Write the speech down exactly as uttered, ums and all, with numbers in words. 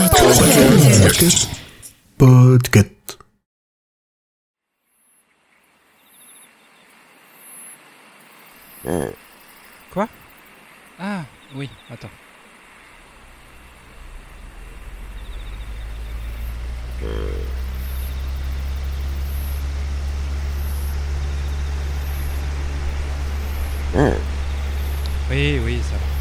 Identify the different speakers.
Speaker 1: Podcast. Podcast.
Speaker 2: Quoi? Ah, oui, attends. Oui, oui, ça va.